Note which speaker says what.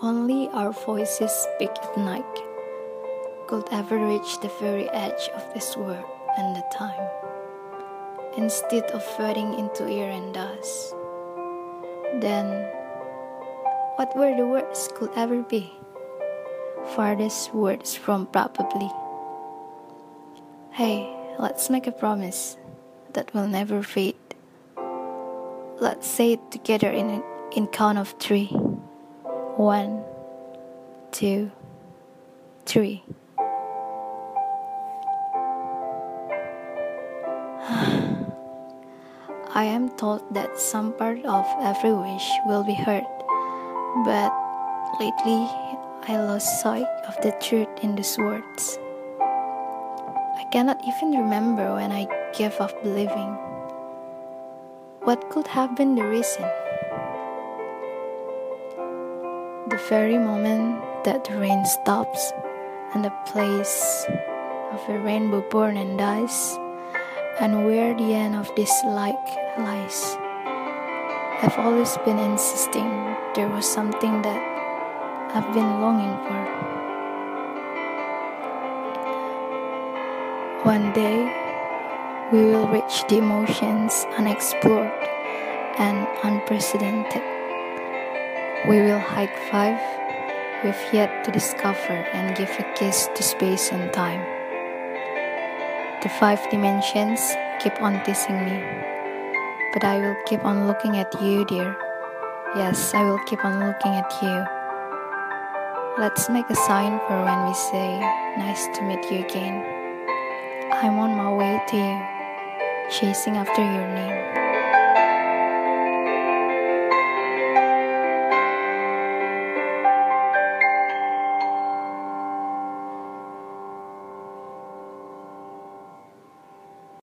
Speaker 1: Only our voices speak at night could ever reach the very edge of this world and the time, instead of fading into air and dust. Then, what were the words could ever be? Farthest words from probably. Hey, let's make a promise that will never fade. Let's say it together in count of 3. 1, 2, 3. I am told that some part of every wish will be heard, but lately I lost sight of the truth in these words. I cannot even remember when I gave up believing. What could have been the reason? The very moment that the rain stops and the place of a rainbow born and dies, and where the end of this light lies. I've always been insisting there was something that I've been longing for. One day, we will reach the emotions unexplored and unprecedented. We will hike 5 we've yet to discover and give a kiss to space and time. The 5 dimensions keep on teasing me, but I will keep on looking at you, dear. Yes, I will keep on looking at you. Let's make a sign for when we say, nice to meet you again. I'm on my way to you, chasing after your name.